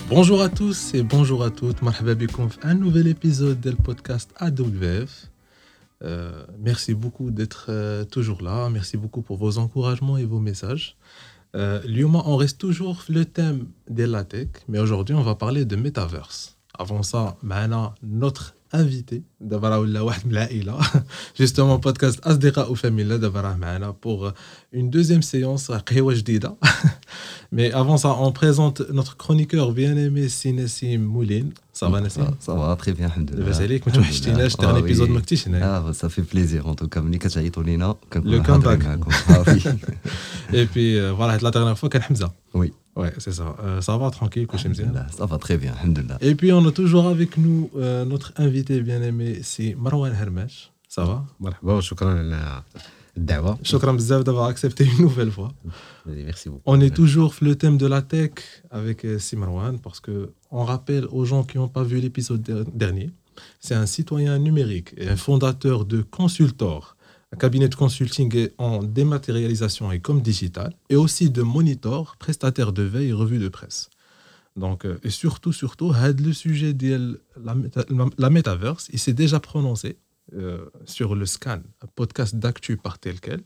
Bonjour à tous et bonjour à toutes. Marhaba bikoum في un nouvel épisode du podcast AWF. Merci beaucoup d'être toujours là. Merci beaucoup pour vos encouragements et vos messages. Lyoma, on reste toujours sur le thème de la tech, mais aujourd'hui, on va parler de Metaverse. Avant ça, معنا notre invité, دابا راه ولا واحد من العائلة. Justement, podcast أصدقاء وفاميلا دابا راه معنا pour une deuxième séance قهوة جديدة. Mais avant ça, on présente notre chroniqueur bien-aimé Nassim Moulin. Ça va Nassim? Ça va très bien, alhamdoulilah. لاباس عليك ما توحشتيناش dernier épisode ما كنتيش هنايا. Ça fait plaisir en tout cas ملي كتعيطوا لينا Le comeback. معكم. Et puis voilà, la dernière fois كان حمزة. Oui. Ouais, c'est ça. Ça va tranquille, كلشي مزيان. Ça va très bien, alhamdoulilah. Et puis on a toujours avec nous notre invité bien-aimé, c'est Marwan Hermesh. Ça va? مرحبا وشكرا على الدعوة. شكرا بزاف d'avoir accepté une nouvelle fois. Merci beaucoup. On est toujours sur le thème de la tech avec Marwan parce que on rappelle aux gens qui n'ont pas vu l'épisode dernier, c'est un citoyen numérique et un fondateur de Consultor, un cabinet de consulting en dématérialisation et com digital, et aussi de Monitor, prestataire de veille et revue de presse. Donc, et surtout, le sujet de la Metaverse, il s'est déjà prononcé sur le Scan, un podcast d'actu par tel quel.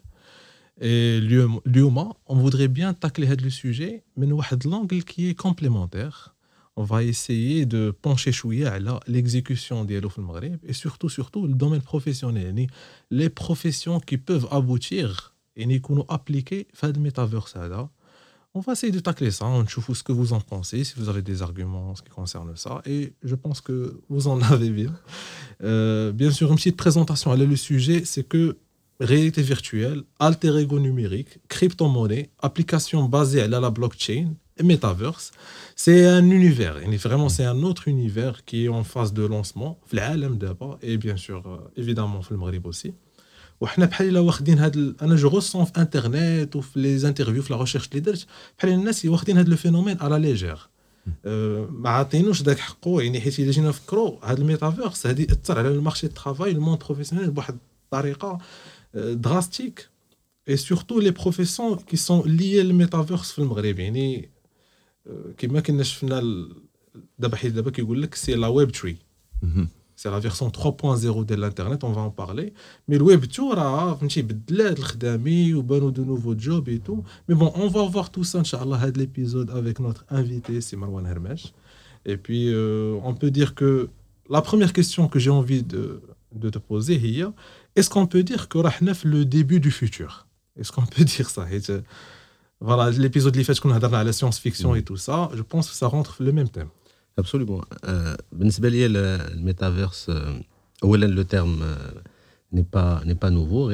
Et Lyoma, on voudrait bien tacler le sujet, mais nous avons l'angle qui est complémentaire. On va essayer de pencher chouïa à l'exécution des au Maghreb et surtout le domaine professionnel, les professions qui peuvent aboutir et nous appliquer à le métaverse. On va essayer de tacler ça, on chouffe ce que vous en pensez, si vous avez des arguments en ce qui concerne ça, et je pense que vous en avez bien. Bien sûr, une petite présentation à le sujet, c'est que réalité virtuelle, alter ego numérique, crypto-monnaie, application basée à la blockchain et metaverse, c'est un univers, vraiment c'est un autre univers qui est en phase de lancement, d'abord, et bien sûr, évidemment, dans le Maghreb aussi. وحنا بحال الا واخدين انا جو رسون في انترنت وفي لي انترفيو في لا ريشيرش اللي درت بحال الناس واخدين هذا الفينومين على ليجير ما عاطينوش داك حقه يعني حيت الا جينا نفكروا هذا الميتافيرس هذه اثر على المارشي دو طرافاي الموند بروفيسيونيل بواحد الطريقه درastيك et surtout les professions qui sont liées au métaverse في المغرب يعني كما كنا شفنا دابا كيقول لك سي لا ويب تري. C'est la version 3.0 de l'internet, on va en parler. Mais le web tour a بدلات الخدامي وبانوا de nouveaux jobs et tout. Mais bon, on va voir tout ça inchallah هذا l'épisode avec notre invité c'est Marwan Hermesh. Et puis on peut dire que la première question que j'ai envie de te poser hier, est-ce qu'on peut dire que راحنا في le début du futur? Est-ce qu'on peut dire ça? Voilà, l'épisode اللي فات كنا هضرنا على science fiction et tout ça, je pense que ça rentre dans le même thème. Absolument. بالنسبة لي الميتافيرس أولا le terme n'est pas nouveau.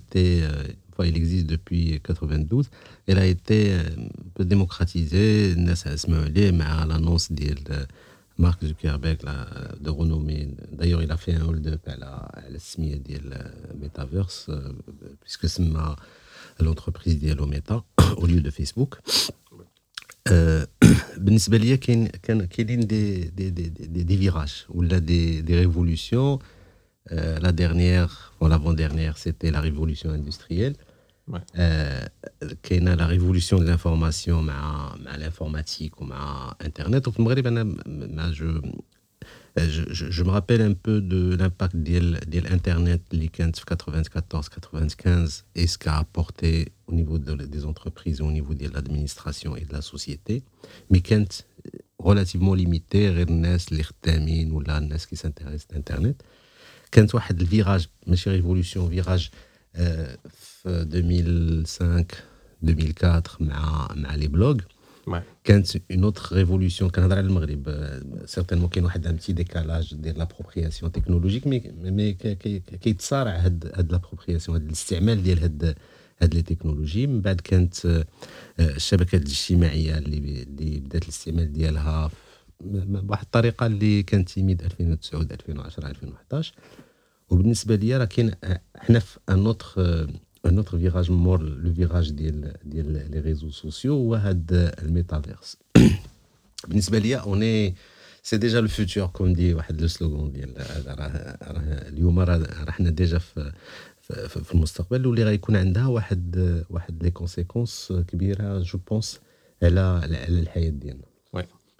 Il existe depuis 92. Il a été un peu démocratisé. الناس اسمعوا عليه مع l'annonce ديال مارك زوكربيرغ de renommée. D'ailleurs, il a fait un hold-up على السمية ديال ميتافيرس puisque سمى l'entreprise ديالو ميتا au lieu de Facebook. بالنسبه ليا كاينين دي فيراج ولا دي ريفولوشن. la dernière ou l'avant-dernière c'était la révolution industrielle. كاينه la révolution de l'information مع l'informatique ومع internet. وفي المغرب انا je me rappelle un peu de l'impact ديال internet اللي كانت في 94-95 et ce qu'a apporté au niveau des entreprises et au niveau de l'administration et de la société, mais كانت relativement limité غير الناس اللي خدامين ولا الناس qui s'intéressent d'internet. كانت واحد الفيراج ماشي ريفولوشن فيراج في 2005-2004 مع لي بلوغ. كانت une autre révolution كنهضر على المغرب certainement كاين واحد un petit décalage ديال l'appropriation technologique mais كيتصارع هاد l'appropriation هاد الاستعمال ديال هاد لي تكنولوجي. من بعد كانت الشبكات الاجتماعيه اللي بدات الاستعمال ديالها بواحد الطريقه اللي كانت تيميد 2009 2010 2011. وبالنسبه ليا راه كاين حنا في un autre virage mort, le virage des réseaux sociaux ou le métaverse. بالنسبة ليا c'est déjà le futur comme dit واحد le slogan ديال اليوم راه حنا déjà في المستقبل واللي غيكون عندها واحد لي كونسيكونس كبيرة جو بونس على الحياة ديالنا.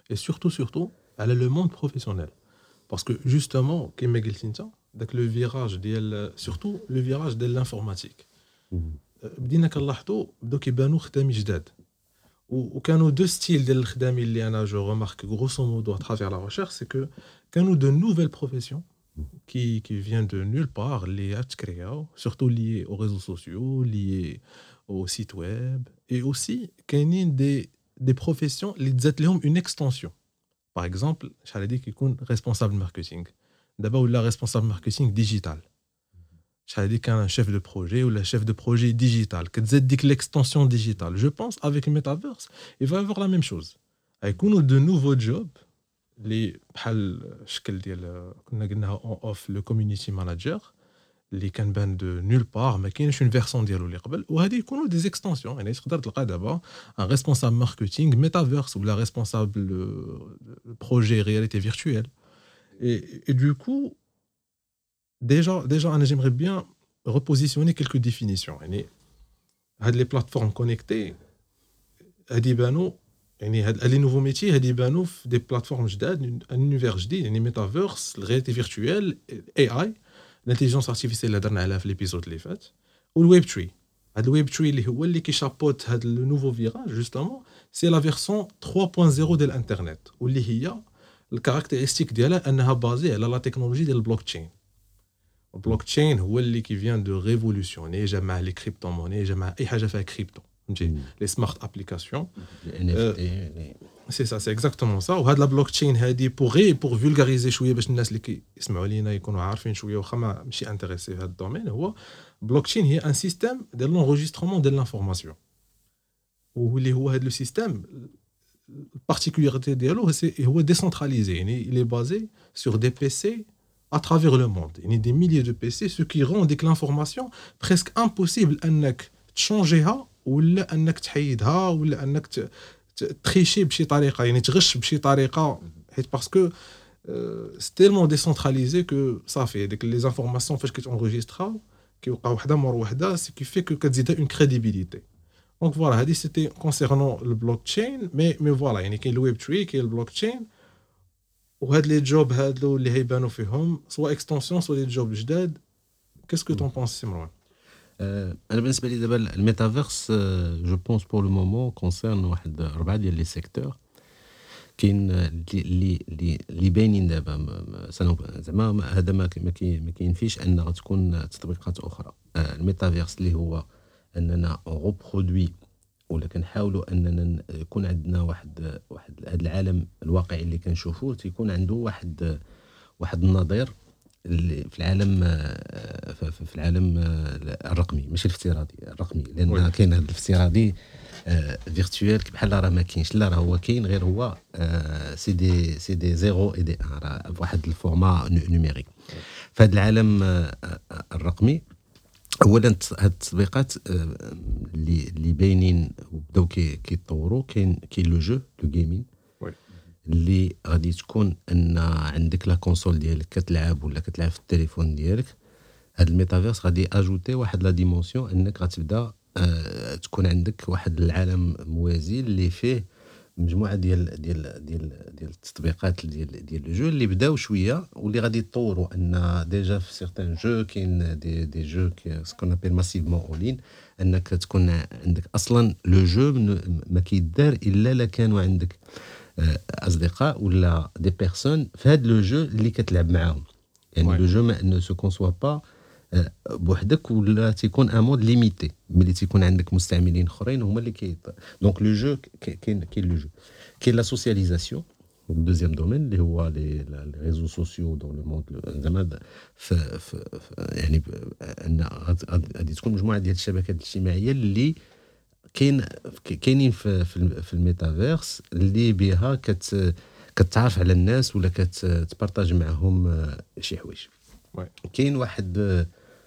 et surtout على le monde professionnel. Parce que justement, كما قلت انت داك le virage ديال surtout le virage ديال l'informatique. بدينا كنلاحظوا بداو كيبانوا خدامي جداد. وكانوا deux styles ديال الخدامي اللي انا je remarque grosso modo à travers la recherche, c'est que كانوا de nouvelles professions qui viennent de nulle part, liées à créer, surtout liées aux réseaux sociaux, liées au site web, et aussi كاينين des professions اللي تزات لهم une extension. Par exemple, شحال هادي كيكون responsable marketing. دابا ولا responsable marketing digital. شحال هادي كان chef de projet ولا chef de projet digital. كتزاد ديك l'extension digitale. Je pense avec le metaverse, il va y avoir la même chose. غيكونوا de nouveaux jobs اللي بحال الشكل ديال كنا قلناها اون اوف لو كوميونيتي ماناجر اللي كان بان دو نول بار ما كاينش اون فيرسون ديالو اللي قبل وهذه يكونوا دي زيكستنسيون يعني تقدر تلقى دابا ان ريسبونسابل ماركتينغ ميتافيرس ولا ريسبونسابل بروجي رياليتي فيرتويال et du coup déjà انا j'aimerais bien repositionner quelques définitions يعني هاد لي بلاتفورم كونيكتي هادي بانوا يعني هاد لي نوفو ميتي هادي بانوا في دي بلاتفورم جداد ان انيفير جديد يعني ميتافيرس الرياليتي فيرتويال اي اي الانتيليجنس ارتيفيسيال اللي هضرنا عليها في ليبيزود اللي فات والويب تري هاد الويب تري اللي هو اللي كيشابوت هاد لو نوفو فيراج جوستومون سي لا فيرسون 3.0 ديال الانترنت واللي هي الكاركتيرستيك ديالها انها بازي على لا تكنولوجي ديال البلوك تشين. البلوك تشين هو اللي كي فيان دو ريفولوسيوني جمع لي كريبتو موني جمع اي حاجه فيها كريبتو فهمتي لي سمارت ابليكاسيون سي سا سي اكزاكتومون سا وهاد لا بلوك تشين هادي بور فولغاريزي شويه باش الناس اللي كيسمعوا لينا يكونوا عارفين شويه واخا ماشي انتريسي في هاد الدومين هو بلوك تشين هي ان سيستيم ديال لونجسترومون ديال لانفورماسيون واللي هو هاد لو سيستيم البارتيكولاريتي ديالو هو ديسنتراليزي يعني il est basé sur des PC à travers le monde يعني des milliers de PC ce qui rend dès que l'information presque impossible انك تشونجيها ولا انك تحيدها ولا انك تريشي بشي طريقه يعني تغش بشي طريقه حيت باسكو سي تيلمون ديسنتراليزي كو صافي ديك لي زانفورماسيون فاش كتونجسترا كيوقع وحده مور وحده سي كي في كو كتزيدها اون كريديبيليتي دونك فوالا هادي سيتي كونسيرنون البلوك تشين مي فوالا يعني كاين الويب تري كاين البلوك تشين وهاد لي جوب هادو اللي هيبانوا فيهم سوا اكستنسيون سوا لي جوب جداد كاسكو طون بونس سي مروان انا بالنسبه لي دابا الميتافيرس جو بونس بور لو مومون كونسيرن واحد 4 ديال لي سيكتور كاين اللي باينين دابا زعما هذا ما كاينفيش ان غتكون تطبيقات اخرى الميتافيرس اللي هو اننا روبرودوي ولا كنحاولوا اننا يكون عندنا واحد هذا العالم الواقعي اللي كنشوفوه تيكون عنده واحد النظير في العالم الرقمي ماشي الافتراضي الرقمي لان كاين هذا الافتراضي فيرتوال بحال راه ما كاينش لا راه هو كاين غير هو سي دي زيرو اي دي ان راه بواحد الفورما نوميريك في هذا العالم الرقمي. اولا هاد التطبيقات اللي باينين وبداو كيتطوروا كاين لو جو لو جيمين اللي غادي تكون ان عندك لا كونسول ديالك كتلعب ولا كتلعب في التليفون ديالك. هاد الميتافيرس غادي اجوتي واحد لا ديمونسيون انك غتبدا تكون عندك واحد العالم موازي اللي فيه مجموعه ديال التطبيقات ديال لو جو اللي بداو شويه واللي غادي يتطوروا ان ديجا في سيغتان جو كاين دي جو سكون ابل ماسيفمون اولين انك تكون عندك اصلا لو جو ما كيدار الا لا كانوا عندك اصدقاء ولا دي بيرسون في هذا لو جو اللي كتلعب معاهم يعني لو جو ما انه سو كونسوا با بوحدك ولا تيكون ان مود ليميتي ملي تيكون عندك مستعملين اخرين هما اللي دونك لو جو كاين لو جو كاين لا سوسياليزاسيون دوزيام دومين اللي هو لي ريزو سوسيو دون لو موند زعما يعني ان غادي تكون مجموعه ديال الشبكات الاجتماعيه اللي كاينين في الميتافيرس اللي بها كتعرف على الناس ولا كتبارطاج معهم شي حوايج. كاين واحد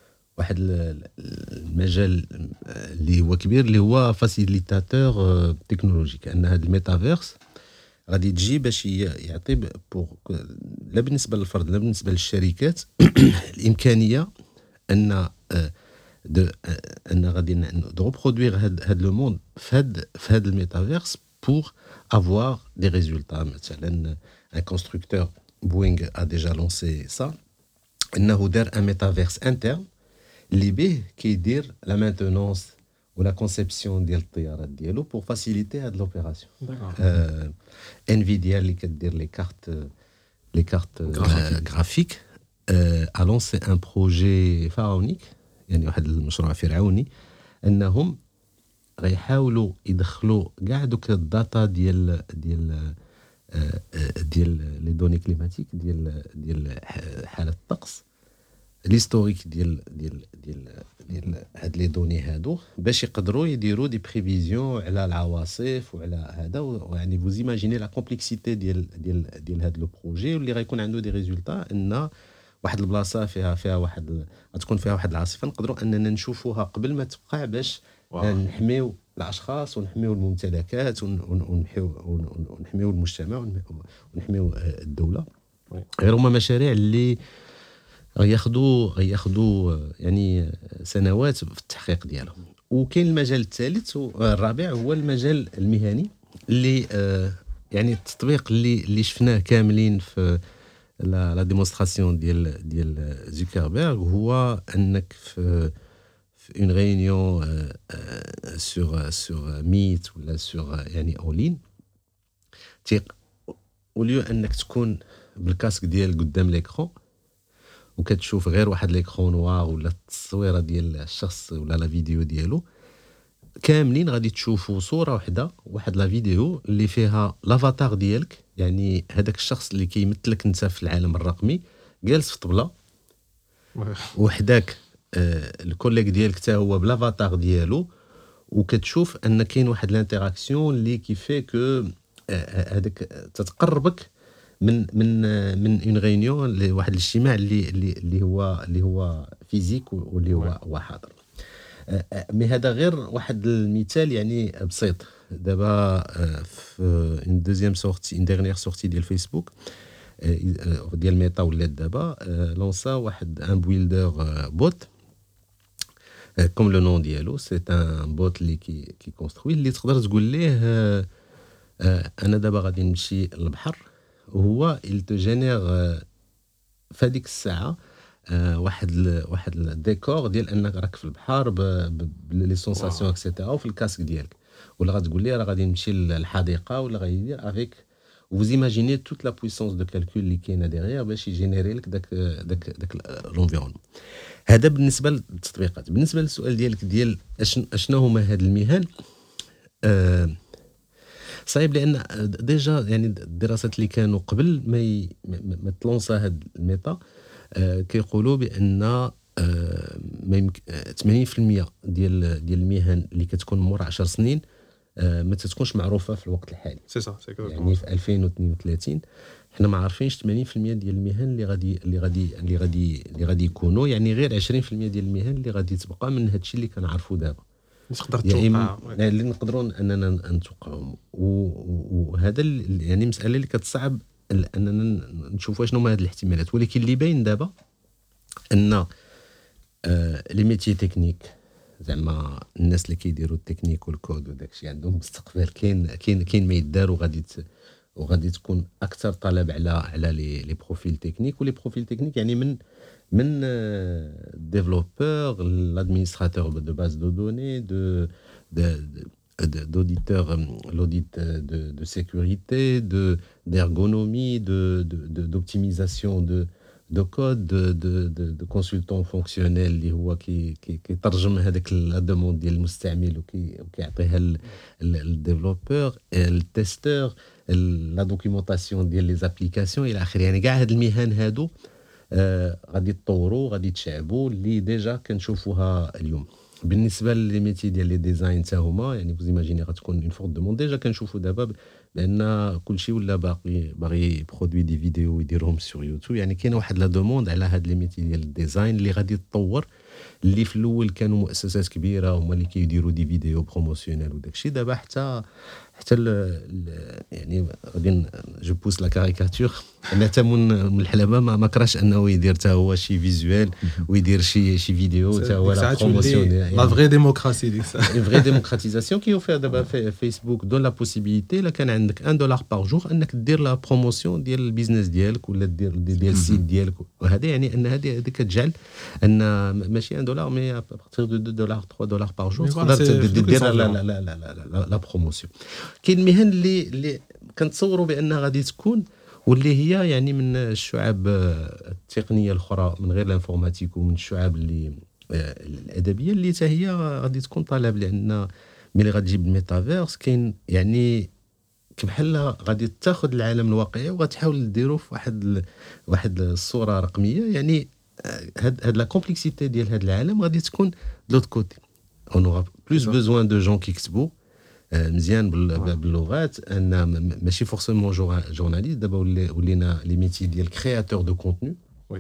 المجال اللي هو كبير اللي هو فاسيليتاتور تكنولوجيك ان هذا الميتافيرس غادي تجي باش يعطي لا بالنسبه للفرد لا بالنسبه للشركات الامكانيه ان غادي نرودوير هاد لو موند في هاد الميتافيرس pour avoir des résultats. مثلا un constructeur Boeing a déjà lancé ça. انه دار un métaverse interne اللي به كيدير la maintenance ou la conception ديال الطيارات ديالو pour faciliter هاد l'opération. Nvidia اللي كدير les cartes graphiques a lancé un projet pharaonique, يعني واحد المشروع فرعوني انهم غيحاولوا يدخلوا كاع دوك الداتا ديال لي دوني كليماتيك ديال حاله الطقس l'historique ديال هاد لي دوني هادو باش يقدروا يديروا دي بريفيزيون على العواصف وعلى هذا. يعني vous imaginez la complexité ديال هاد لو بروجي واللي غيكون عنده دي ريزولتا ان واحد البلاصه فيها واحد غتكون فيها واحد العاصفه نقدروا اننا نشوفوها قبل ما توقع باش نحميو الاشخاص ونحميو الممتلكات ونحميو المجتمع ونحميو الدوله. غير هما مشاريع اللي غياخذوا يعني سنوات في التحقيق ديالهم. وكاين المجال الثالث والرابع هو المجال المهني اللي يعني التطبيق اللي شفناه كاملين في لا ديمونستراسيون ديال زوكربيرغ هو انك في une réunion sur Meet ولا sur يعني اونلاين اوليو انك تكون بالكاسك ديال قدام ليكرون وكتشوف غير واحد ليكرون نوار ولا التصويره ديال الشخص ولا لا فيديو ديالو كاملين غادي تشوفوا صوره واحده واحد لا فيديو اللي فيها لافاتار ديالك، يعني هذاك الشخص اللي كيمثلك انت في العالم الرقمي جالس في طبله وحداك الكوليك ديالك حتى هو بلافاتار ديالو وكتشوف ان كاين واحد الانتراكسيون اللي كيفي كو هذاك تتقربك من اون ريونيون لواحد الاجتماع اللي هو فيزيك واللي هو حاضر. مي هذا غير واحد المثال يعني بسيط. دابا في اون دوزيام سورتي اون ديرنيير سورتي ديال فيسبوك ديال ميتا ولات دابا لونسا واحد ان بويلدر بوت كوم لو نون ديالو سي ان بوت اللي كي كونستروي اللي تقدر تقول ليه انا دابا غادي نمشي للبحر وهو il te génère في هذيك الساعه واحد الديكور ديال انك راك في البحر بلي سونساسيون اكسيتيرا وفي الكاسك ديالك، ولا غتقول لي راه غادي نمشي للحديقه ولا غيدير افيك vous imaginez toute la puissance de calcul اللي كاينه ديغير باش يجينيري لك داك لونفيرونمون. هذا بالنسبه للتطبيقات. بالنسبه للسؤال ديالك ديال اشنو هما هاد المهن، صعيب لان ديجا يعني الدراسات اللي كانوا قبل ما تلونسا هاد الميتا كيقولوا بان 80% ديال المهن اللي كتكون مور 10 سنين ما تتكونش معروفه في الوقت الحالي. سي صح يعني في 2032 حنا ما عارفينش 80% ديال المهن اللي غادي يكونوا، يعني غير 20% ديال المهن اللي غادي تبقى من هادشي اللي كنعرفوا دابا تقدر توقع اللي نقدروا اننا نتوقعهم. وهذا يعني مساله اللي كتصعب اننا نشوفوا شنو هما هاد الاحتمالات. ولكن اللي باين دابا ان لي ميتي تكنيك زعما الناس اللي كيديروا التكنيك والكود وداكشي عندهم مستقبل كاين ما يدار وغادي تكون اكثر طلب على لي بروفيل تكنيك. ولي بروفيل تكنيك يعني من ديفلوبور l'administrateur de base de données d'auditeur l'audit de sécurité d'ergonomie d'optimisation de code de consultant fonctionnel اللي هو كيترجم هذاك لا دوموند ديال المستعمل وكيعطيها للديفلوبور التيستور لا دوكيومونطاسيون ديال لي زابليكاسيون الى اخره. يعني كاع هاد المهن هادو غادي تطوروا غادي تشعبوا اللي ديجا كنشوفوها اليوم. بالنسبه لي ميتي ديال لي ديزاين حتى هما يعني فوز ايماجيني غتكون اون فورت دوموند. ديجا كنشوفوا دابا لان كلشي ولا باغي برودوي دي فيديو ويديرهم سور يوتيوب. يعني كاينه واحد لا دوموند على هاد لي ميتي ديال الديزاين اللي غادي تطور، اللي في الاول كانوا مؤسسات كبيره هما اللي كيديروا دي فيديو بروموسيونيل وداكشي. دابا حتى حتى يعني غادي جو بوس لا كاريكاتور انا حتى من الحلبه ما كراش انه يدير حتى هو شي فيزوال ويدير شي فيديو حتى هو لا بروموسيون لا فري ديموكراسي ديك الساعه اون فري ديموكراتيزاسيون كي يوفر دابا فيسبوك دون لا بوسيبيليتي الا كان عندك $1 باغ جور انك دير لا بروموسيون ديال البيزنس ديالك ولا دير ديال السيت ديالك وهذا يعني ان هذه كتجعل ان ماشي $1 مي ابارتيغ دو $2 $3 باغ جور تقدر دير لا بروموسيون. كاين المهن اللي كنتصوروا بانها غادي تكون واللي هي يعني من الشعب التقنيه الاخرى من غير الانفورماتيك ومن الشعب اللي الادبيه اللي حتى هي غادي تكون طالب لان ملي غتجيب الميتافيرس كاين يعني بحال غادي تاخذ العالم الواقعي وغتحاول ديرو في واحد الصوره رقميه يعني هاد لا كومبلكسيتي ديال هاد العالم غادي تكون لوط كوتي اون اورا بلوس بوزوان دو جون كيكتبوا مزيان باللغات ان ماشي فورسيمون جورناليست دابا ولينا لي ميتي ديال كرياتور دو كونتوني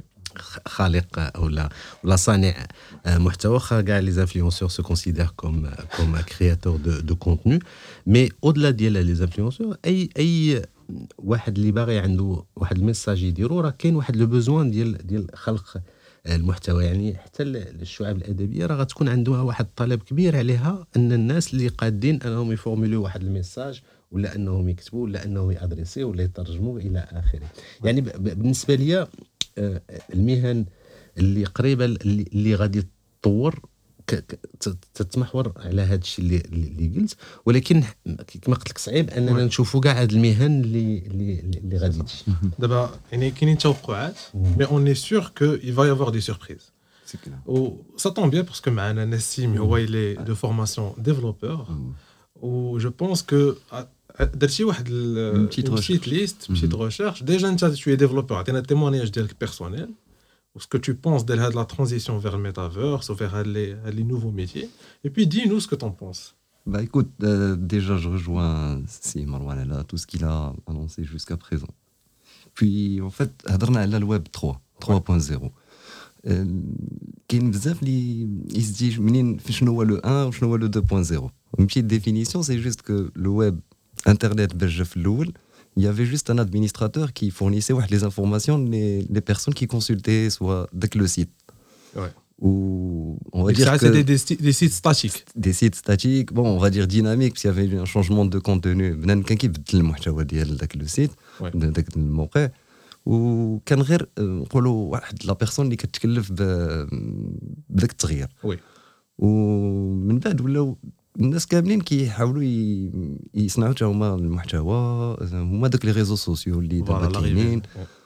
خالق ولا صانع محتوى كاع لي انفلونسور سو كونسيدير كوم كرياتور دو كونتوني مي اودلا ديال لي انفلونسور اي واحد اللي باغي عنده واحد الميساج يديرو راه كاين واحد لو بوزوان ديال خلق المحتوى يعني حتى الشعب الادبيه راه غتكون عندها واحد الطلب كبير عليها ان الناس اللي قادين انهم يفورموليو واحد الميساج ولا انهم يكتبوا ولا انهم يادريسيو ولا يترجموا الى اخره. يعني بالنسبه لي المهن اللي قريبه اللي غادي تطور تتمحور على هذا الشيء اللي قلت ولكن كما قلت لك صعيب اننا نشوفوا كاع هاد المهن اللي غادي تجي دابا يعني كاينين توقعات مي اون اي سور كو il va y avoir des surprises و ça tombe bien parce que معنا نسيم هو il est de formation développeur و je pense que درتي واحد البيت ليست بيت ريشيرش ديجا انت tu es développeur عطينا التيمونياج ديالك بيرسونيل ce que tu penses de la transition vers le métaverse ou vers les nouveaux métiers. Et puis, dis-nous ce que tu en penses. Bah écoute, déjà je rejoins Marwan là, tout ce qu'il a annoncé jusqu'à présent. Puis en fait, هضرنا على الويب 3.0. كاين بزاف اللي يسدي منين شنو هو لو 1 وشنو هو لو 2.0. Une petite définition, c'est juste que le web internet باش جا في الاول il y avait juste un administrateur qui fournissait les informations les personnes qui consultaient soit dès le site. Ouais. Ou on va dire ça, que c'était des sites statiques. Des sites statiques, bon, on va dire dynamiques, parce qu'il y avait un changement de contenu. بنان كان كيبدل المحتوى ديال داك لو سيت داك الموقع وكان غير نقولوا واحد لا بيرسون اللي كتكلف بداك التغيير. وي. ومن بعد ولاو الناس كاملين كيحاولوا يصنعوا حتى هما المحتوى هما داك لي ريزو سوسيو اللي دابا كاينين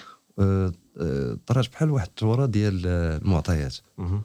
طراج بحال واحد التوره ديال المعطيات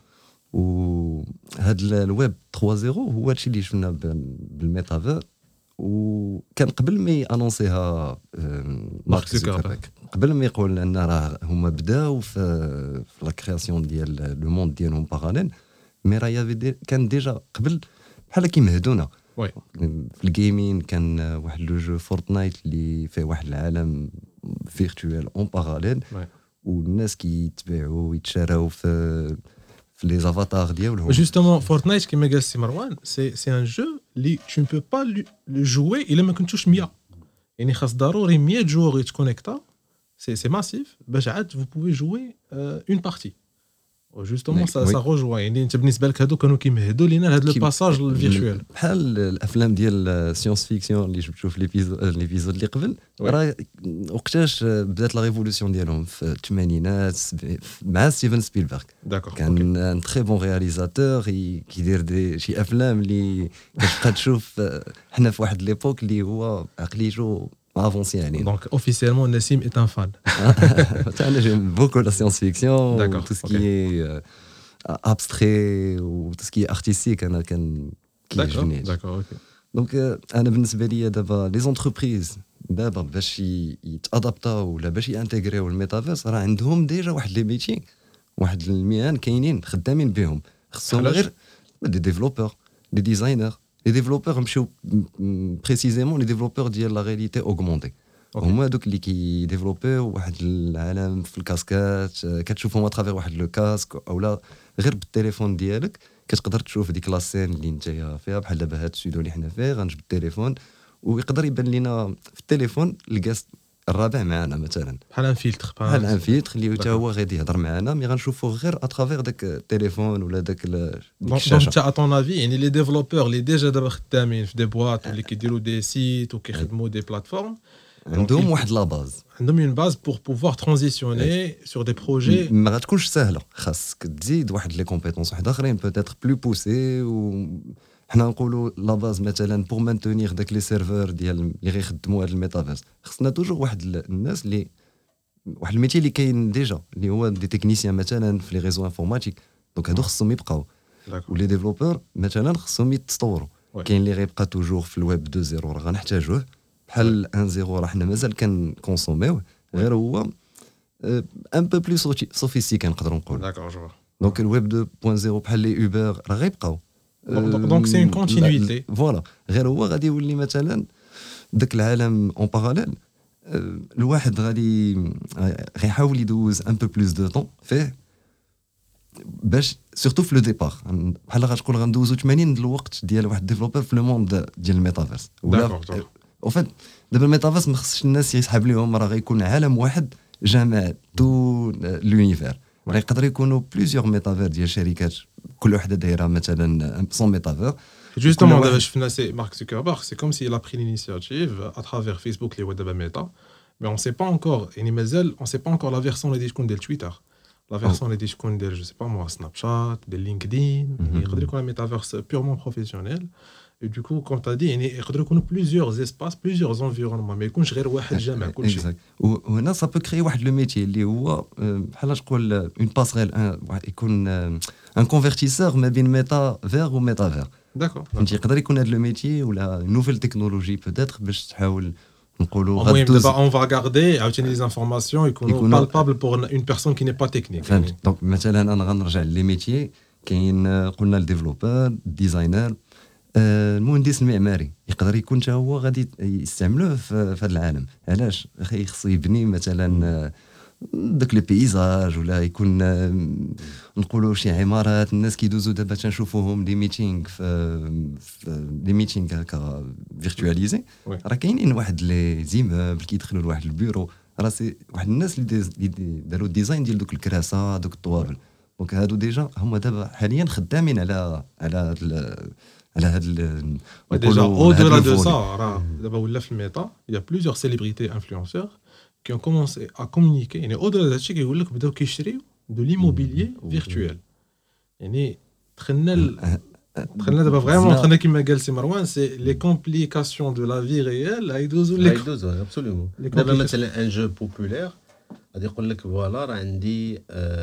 وهاد الويب 3.0 هو هادشي اللي شفنا بالميتافير وكان قبل ما انونسيها مارك زوكربيرغ قبل ما يقول ان راه هما بداو في لا كرياسيون ديال لو موند ديالهم باراليل مي راه كان ديجا قبل بحال كيمهدونا في الجيمين كان واحد لو جو فورتنايت اللي فيه واحد العالم فيرتوال اون باراليل والناس كيتباعوا ويتشراو في les avatars ديالهم. Justement, Fortnite كما قال سي مروان c'est un jeu اللي tu ne peux pas le jouer الا ما كنتوش 100 يعني خاص ضروري 100 جوغ يتكونيكتا c'est massif باش عاد vous pouvez jouer une partie. Justement ça rejoint يعني انت بالنسبه لك هادو كانوا كيمهدوا لينا لهاد لو باساج الفيرتوال بحال الافلام ديال سيونس فيكسيون اللي جبتو في ليبيزود اللي قبل راه وقتاش بدات لا ريفولوسيون ديالهم في الثمانينات مع ستيفن سبيلبرغ كان ان تري بون رياليزاتور كيدير شي افلام اللي كتبقى تشوف حنا في واحد ليبوك اللي هو عقليته avancé يعني. Donc officiellement Nassim est un fan. J'aime beaucoup la science-fiction, tout ce qui est abstrait ou tout ce qui est artistique انا كان كيعجبني. D'accord, OK. Donc انا بالنسبه لي دابا لي زونتربريز دابا باش يتادابطاو ولا باش يانتيغريو الميتافيرس راه عندهم ديجا واحد لي ميتي واحد المهن كاينين خدامين بهم خصهم غير دي ديفلوبور دي ديزاينر les développeurs مشاو précisément les développeurs ديال la réalité augmentée هما دوك اللي كيديفلوبيو واحد العالم في الكاسكات كتشوفهم اترافير واحد لو كاسك اولا غير بالتليفون ديالك كتقدر تشوف ديك لاسين اللي نتايا فيها بحال دابا هاد السودو اللي حنا فيه غنجبد التليفون ويقدر يبان لنا في التليفون الكاس الرابع معنا مثلا بحال ان فيلتر اللي حتى هو غادي يهضر معنا مي غنشوفوه غير اترافير داك التليفون ولا داك الشاشه. دونك ا طون افي يعني لي ديفلوبور اللي ديجا دابا خدامين في دي بواط اللي كيديروا دي سيت وكيخدموا دي بلاتفورم عندهم واحد لا باز عندهم اون باز بور بوفوار ترانزيسيوني سور دي بروجي ما غاتكونش سهله خاصك تزيد واحد لي كومبيتونس واحد اخرين بوتيتر بلو بوسي و حنا نقولوا لا باز مثلا بور مانتونير داك لي سيرفور ديال اللي غيخدموا هذا الميتافيرس خصنا توجور واحد الناس اللي واحد الميتي اللي كاين ديجا اللي هو دي تكنيسيان مثلا في لي ريزو انفورماتيك دونك هادو خصهم يبقاو ولي ديفلوبور مثلا خصهم يتطوروا كاين اللي غيبقى توجور في الويب 2.0 راه غنحتاجوه بحال 1.0 راه حنا مازال كنكونسوميوه غير هو ان بو بلو سوفيستيكي نقدروا نقولوا دونك الويب 2.0 بحال لي اوبر راه غيبقاو دونك سي اون كونتينيتي فوالا غير هو غادي يولي مثلا داك العالم اون باراليل الواحد غيحاول يدوز ان بو بلوس دو طون فيه باش سورتو في لو ديبار بحال غتقول غندوزو 80 الوقت ديال واحد ديفلوبر في لو موند ديال الميتافيرس ولا او فات دابا الميتافيرس ما خصش الناس يسحب ليهم راه غيكون عالم واحد جامع تو لونيفير يقدر يكونوا بليزيور ميتافير ديال شركات كل وحده دايره مثلا سون ميتافير justement دابا شفنا سي مارك زوكربيرغ سي كوم سي لا بري l'initiative à travers Facebook اللي هو دابا ميتا mais on sait pas encore يعني مازال on sait pas encore la version اللي تكون ديال تويتر لا فيرسون اللي تكون ديال جو سي با موا سناب شات ديال لينكدين يقدر يكون ميتافيرس بيورمون بروفيسيونيل et du coup comme tu as dit يعني يقدروا يكونوا plusieurs espaces plusieurs environnements ما يكونش غير واحد جامع كل شيء وهنا سا بو كري واحد لو ميتي اللي هو بحال تقول اون باسريل يكون ان كونفرتيسور ما بين ميتا فير وميتافير داكور فهمتي يقدر يكون هذا لو ميتي ولا نوفيل تكنولوجي بوتيتر باش تحاول نقولوا المهم دابا اون فا غاردي عاوتاني لي انفورماسيون يكونوا بالبابل بور اون بيرسون كي ني با تكنيك فهمت دونك مثلا انا غنرجع لي ميتي كاين قلنا الديفلوبر الديزاينر المهندس المعماري يقدر يكون حتى هو غادي يستعملوه في هذا العالم علاش خصو يبني مثلا داك لي بيزاج ولا يكون نقولوا شي عمارات الناس كيدوزوا دابا تنشوفوهم دي ميتينغ في دي ميتينغ هكا فيرتواليزي راه كاينين واحد لي زيموبل كيدخلوا لواحد البيرو راه سي واحد الناس اللي داروا الديزاين ديال دوك الكراسه دوك الطوابل دونك هادو ديجا هما دابا حاليا خدامين على هاد ديجا او دو لا دو سا راه دابا ولا في الميتا يا بليزيور سيليبريتي انفلونسور qui ont commencé à communiquer يعني au-delà de ça كيقول لك بداو كيشريو دو ليموبيليي فيرتوال يعني دخلنا دابا فريمون دخلنا كيما قال سي مروان سي لي كومبليكاسيون دو لا في ريال هيدوزو ابسوليومون دابا مثلا ان جو بوبولير غادي يقول لك فوالا راه عندي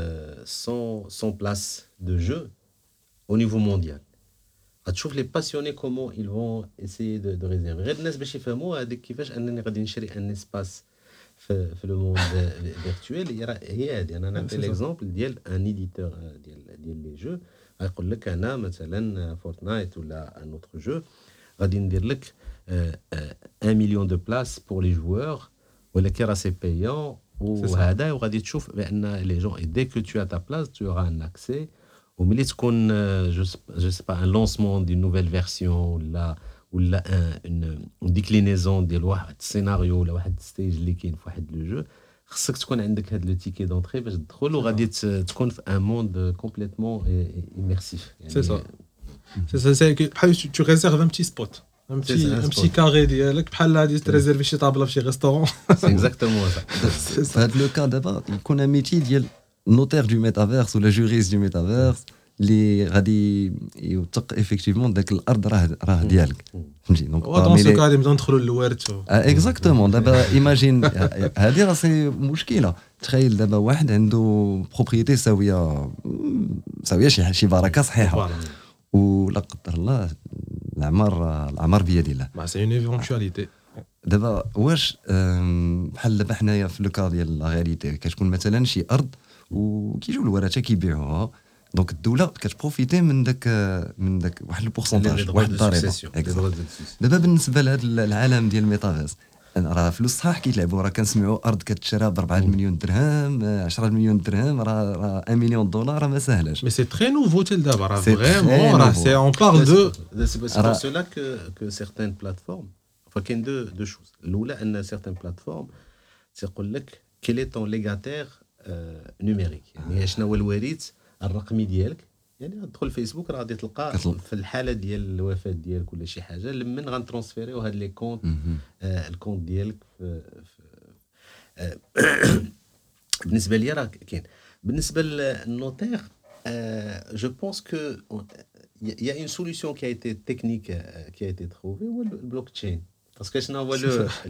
100 بلاس دو جو au niveau mondial غتشوف لي باسيوني كومون ils vont essayer de réserver غير الناس باش يفهموا هذيك كيفاش انني غادي نشري ان اسباس في لو موند فيرتوال هي هذه انا نعطي ليكزامبل ديال ان ايديتور ديال لي جو غيقول لك انا مثلا فورتنايت ولا ان اوتر جو غادي ندير لك 1 مليون دو بلاس بور لي جوور ولكن راه سي بايون وهذا وغادي تشوف بان لي جون دي كو تو ا تا بلاس تو اورا ان اكسي وملي تكون جو سي با ان لونسمون دي نوفيل فيرسيون ولا اون ديكلينيزون ديال واحد السيناريو ولا واحد ستيج اللي كاين في واحد لو جو خصك تكون عندك هاد لو تيكي دونطري باش تدخل وغادي تكون في ان موند كومبليتمون ايميرسيف سي سا سي بحال تو ريزيرف ان بتي سبوت ان بتي كاري ديالك بحال غادي تريزيرفي شي طابله في شي ريستورون سي اكزاكتومون سا في هاد لو كا دابا يكون ان ميتي ديال نوتير دو ميتافيرس ولا جوريست دو ميتافيرس اللي غادي يوثق افيكتيفمون داك الارض راه ديالك فهمتي دونك دون سو غادي نبداو ندخلوا للوارث اكزاكتومون دابا ايماجين هذه راه سي مشكله تخيل دابا واحد عنده بروبريتي ساويه شي بركه صحيحه ولا قدر الله العمر بيد الله ما سي اون ايفونتواليتي دابا واش بحال دابا حنايا في لو كا ديال لا رياليتي كتكون مثلا شي ارض وكيجيو الورثه كيبيعوها دونك الدوله كتبروفيتي من داك واحد البورسونتاج واحد الضريبه دابا بالنسبه لهذا العالم ديال الميتافيرس راه فلوس صحاح كيتلعبوا راه كنسمعوا ارض كتشرى ب 4 مليون درهم 10 مليون درهم راه 1 مليون دولار راه ما ساهلاش مي سي تري نوفو تيل دابا راه فريمون راه سي اون بارل دو سي بور سولا كو سيغتان بلاتفورم فكاين دو شوز. الاولى ان سيغتان بلاتفورم تيقول لك كيل اي طون ليغاتير نيميريك، يعني شنو هو الوريث الرقمي ديالك. يعني تدخل فيسبوك راه غادي تلقى في الحاله ديال الوفاه ديالك ولا شي حاجه لمن غنترونسفيريو هاد لي كونط الكونط ديالك بالنسبه ليا راه كاين. بالنسبه للنوتير je pense que il y a une solution qui a été technique qui a été trouvée هو البلوكتشين. باسكو شنو هو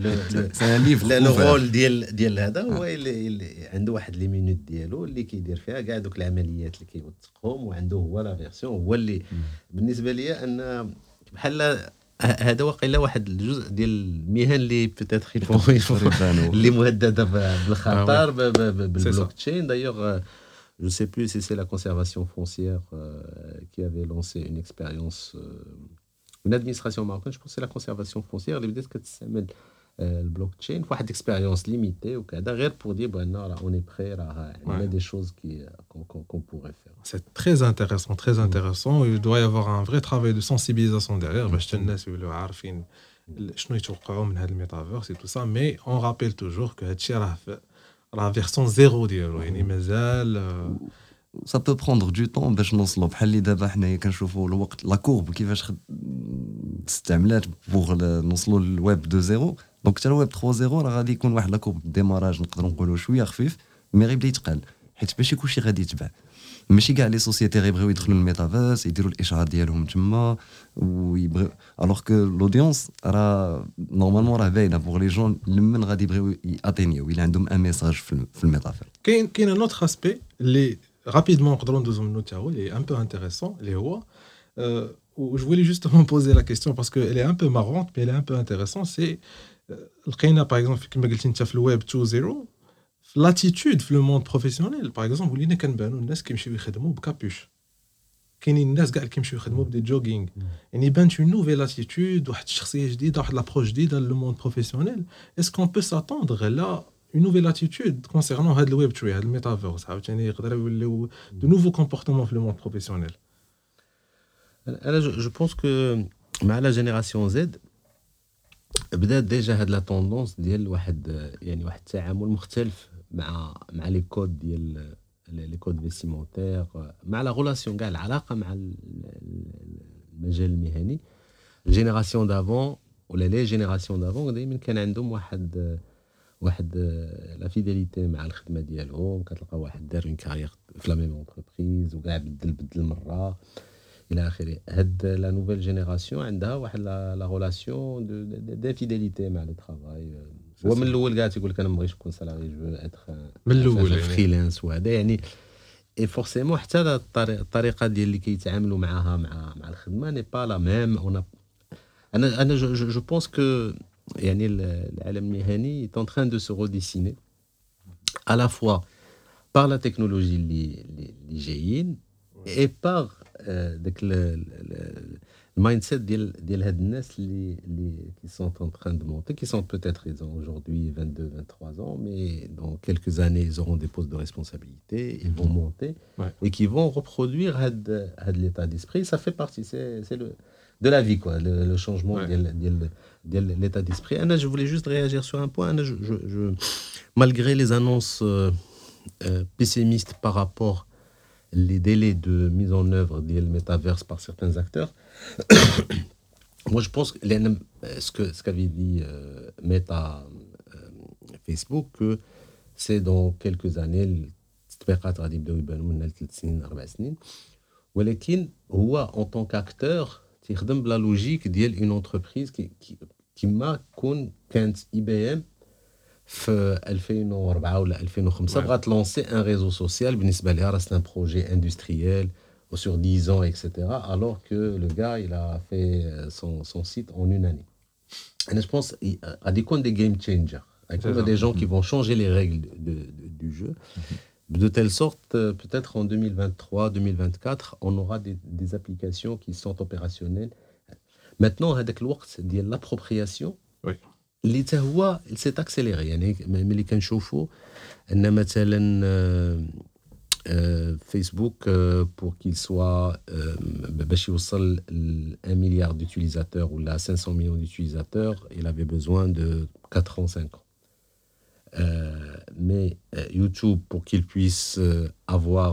لو رول ديال هذا هو اللي عنده واحد لي مينوت ديالو اللي كيدير فيها كاع دوك العمليات اللي كيوثقهم، وعنده هو لا فيرسيون هو اللي بالنسبه لي ان بحال هذا واقيلا واحد الجزء ديال المهن اللي بيتيتر اللي مهدده بالخطر بالبلوكتشين. دايوغ je sais plus si c'est la conservation foncière qui avait lancé une expérience une administration marocaine, je pense que c'est la conservation foncière اللي بدات كتستعمل البلوكتشين في واحد اكسبيريونس ليميتي وكذا غير بور دي بان راه اون بري راه عندنا دي شوز كي qu'on pourrait faire. C'est très intéressant. Il doit y avoir un vrai travail de sensibilisation derrière باش الناس يولوا عارفين شنو يتوقعوا من هذا الميتافيرس et tout ça, mais on rappelle toujours que هادشي راه فيرسون زيرو ديالو، يعني مازال ça peut prendre du temps باش نوصلوا. بحال اللي دابا حنايا كنشوفوا الوقت لا كورب كيفاش استعملات بوغ نوصلوا للويب 2.0. دونك حتى الويب 3.0 راه غادي يكون واحد لا كورب ديماراج نقدروا نقولوا شويه خفيف مي غيبدا يتقال، حيت ماشي كلشي غادي يتبع. ماشي كاع لي سوسيتي غيبغيو يدخلوا للميتافيرس يديروا الاشهار ديالهم تما ويبغيو، الوغ كو لودونس راه نورمالمون راه باينه بوغ لي جون لمن غادي يبغيو ياتينيو الى عندهم ان ميساج في الميتافيرس. كاين ان اوتر اسبي اللي رابيدمون نقدروا ندوزو منو تا هو اللي ان بو انتريسون اللي هو je voulais justement poser la question parce que elle est un peu marrante mais elle est un peu intéressante. C'est لقينا par exemple كما قلتي انت في الويب 2.0 l'attitude في le monde professionnel par exemple ولينا كنبانوا الناس كيمشيو يخدموا بكابوش، كاينين الناس كاع اللي كيمشيو يخدموا بدي جوغينغ، يعني بانت une nouvelle attitude واحد الشخصيه جديده واحد لابروش جديده لو موند بروفيسيونيل. est-ce qu'on peut s'attendre là une nouvelle attitude concernant هذا الويب 3 هذا الميتافيرس عاوتاني يقدروا يوليو de nouveaux comportements في le monde professionnel؟ انا جو بونس كو مع لا جينيراسيون زد بدات ديجا هاد لا طوندونس ديال واحد يعني واحد التعامل مختلف مع لي كود ديال لي كود فيستيمونتير، مع لا ريلاسيون كاع العلاقه مع المجال المهني. الجينيراسيون دافون ولا لي جينيراسيون دافون دائما كان عندهم واحد لا فيديليتي مع الخدمه ديالهم. كتلقى واحد دار اون كارير في لا ميم اونتربريز وكاع بدل مره الى اخره. هاد لا نوفيل جينيراسيون عندها واحد لا ريلاسيون دو فيديليتي مع لو ترافاي. هو من الاول كاع تيقول لك انا ما بغيتش نكون سالاري جو اتر من الاول فريلانس وهذا يعني اي فورسيمون حتى الطريقه ديال اللي كيتعاملوا معاها مع الخدمه ني با لا ميم. انا جو بونس كو يعني العالم المهني est en train de se redessiner à la fois par la technologie اللي جايين et par داك المايند سيت ديال هاد الناس اللي qui sont en train de monter, qui sont peut-être ils ont aujourd'hui 22 23 ans mais dans quelques années ils auront des postes de responsabilité, ils vont monter et qui vont reproduire هاد l'état d'esprit. Ça fait partie, c'est de la vie quoi, le changement ديال l'état d'esprit. Anna, je voulais juste réagir sur un point. Anna, je malgré les annonces pessimistes par rapport les délais de mise en œuvre du métaverse par certains acteurs, moi je pense que ce qu'avait dit Meta Facebook, que c'est dans quelques années التطبيقات غادي يبداو يبانوا لنا 3 سنين 4 سنين، ولكن هو en tant qu'acteur تيخدم بلا لوجيك ديال اون انتربريز كيما كانت اي بي ام في 2004 ولا 2005 بغات لونسي ان ريزو سوسيال. بالنسبه لها راه سان بروجي اندستريال sur 10 ans etc. alors que le gars il a fait son site en une année. Et je pense غادي يكون des game changers, des gens qui vont changer les règles du jeu de telle sorte peut-être en 2023 2024 on aura des applications qui sont opérationnelles. Maintenant هذاك الوقت ديال l'appropriation اللي حتى هو s'est accéléré. يعني ملي كنشوفوا ان مثلا Facebook, pour qu'il soit باش يوصل 1 milliard d'utilisateurs ou là 500 millions d'utilisateurs, il avait besoin de 4 ans, 5 ans. Mais YouTube, pour qu'il puisse avoir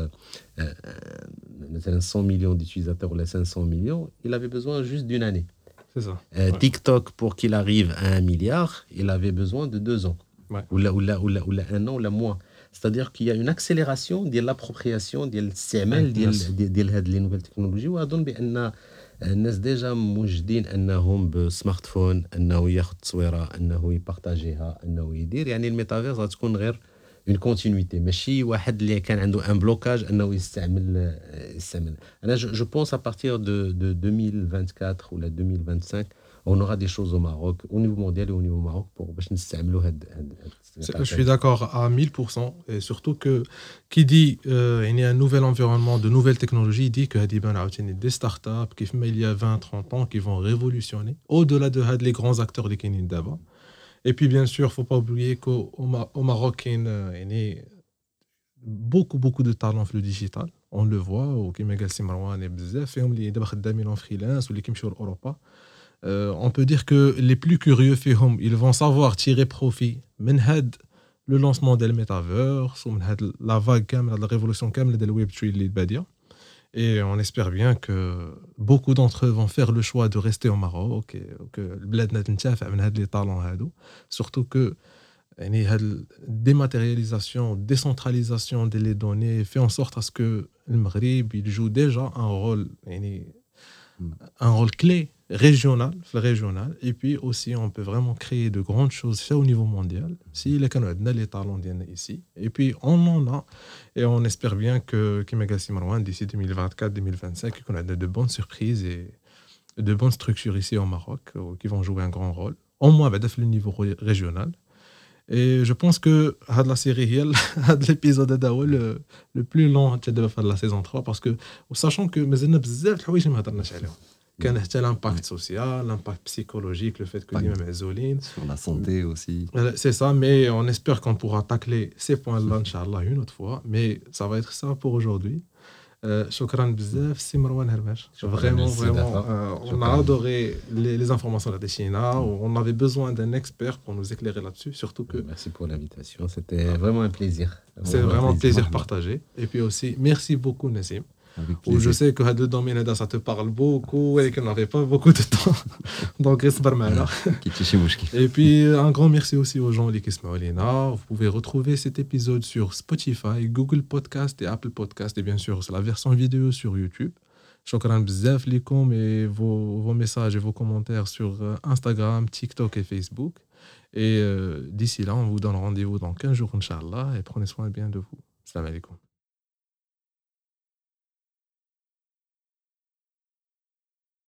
100 millions d'utilisateurs ou là 500 millions, il avait besoin juste d'une année. C'est ça. TikTok, pour qu'il arrive à 1 milliard, il avait besoin de 2 ans. Ou là 1 an, ou là moins. C'est-à-dire qu'il y a une accélération de l'appropriation ديال الاستعمال ديال هاد لي نوفيل تكنولوجي. واظن بان الناس ديجا موجدين انهم بسمارت فون انه ياخذ تصويره انه يبارطاجيها انه يدير. يعني الميتافيرس غتكون غير اون كونتينيتي ماشي واحد اللي كان عنده ان بلوكاج انه يستعمل. انا جو بونس ا بارتير دو 2024 ولا 2025 on aura des choses au Maroc, au niveau mondial et au niveau Maroc, pour باش نستعملوا هاد. Je suis d'accord à 1000%. Et surtout que qui dit il y a un nouvel environnement, de nouvelles technologies, dit que des startups qui il y a 20-30 ans qui vont révolutionner au-delà de les grands acteurs de Kenya d'abord. Et puis bien sûr, il ne faut pas oublier qu'au Maroc, il y a beaucoup de talents dans le digital. On le voit, au Kimegal Simrawan et Bzef, et on les خدامين en freelance ou les qui sont en Europe. On peut dire que les plus curieux ils vont savoir tirer profit de le lancement du metaverse ou de la vague de la révolution de Web3. Et on espère bien que beaucoup d'entre eux vont faire le choix de rester au Maroc et que le bled n'intiaf'a من هاد les talents هادو. Surtout que la dématérialisation, décentralisation des données fait en sorte à ce que le Maghreb il joue déjà un rôle clé régional, et puis aussi on peut vraiment créer de grandes choses au niveau mondial si les Canadiens les talents viennent ici, et puis on en a, et on espère bien que Kimegal Marwan d'ici 2024-2025 qu'on a de bonnes surprises et de bonnes structures ici au Maroc qui vont jouer un grand rôle au moins à le niveau régional. Et je pense que la série l'épisode le plus long de la saison 3, parce que sachant que مازلنا بزاف الحوايج ما هضرناش عليهم. كان حتى l'impact social, l'impact psychologique, le fait que les mêmes isolines sur la santé aussi. C'est ça, mais on espère qu'on pourra tacler ces points-là inchallah une autre fois, mais ça va être ça pour aujourd'hui. شكرا بزاف سي مروان هرماش. Vraiment, on a adoré les informations de China. On avait besoin d'un expert pour nous éclairer là-dessus, surtout que... Merci pour l'invitation, c'était vraiment un plaisir. C'est vraiment un plaisir partagé. Et puis aussi, merci beaucoup Nassim. Je sais que le domaine ça te parle beaucoup et qu'on n'avait pas beaucoup de temps. Donc, et puis, un grand merci aussi aux gens qui sont là. Vous pouvez retrouver cet épisode sur Spotify, Google Podcast et Apple Podcast, et bien sûr, c'est la version vidéo sur YouTube. Shukran bzaf likom et vos messages et vos commentaires sur Instagram, TikTok et Facebook. Et d'ici là, on vous donne rendez-vous dans 15 jours, Inch'Allah, et prenez soin bien de vous. Salam alaikum.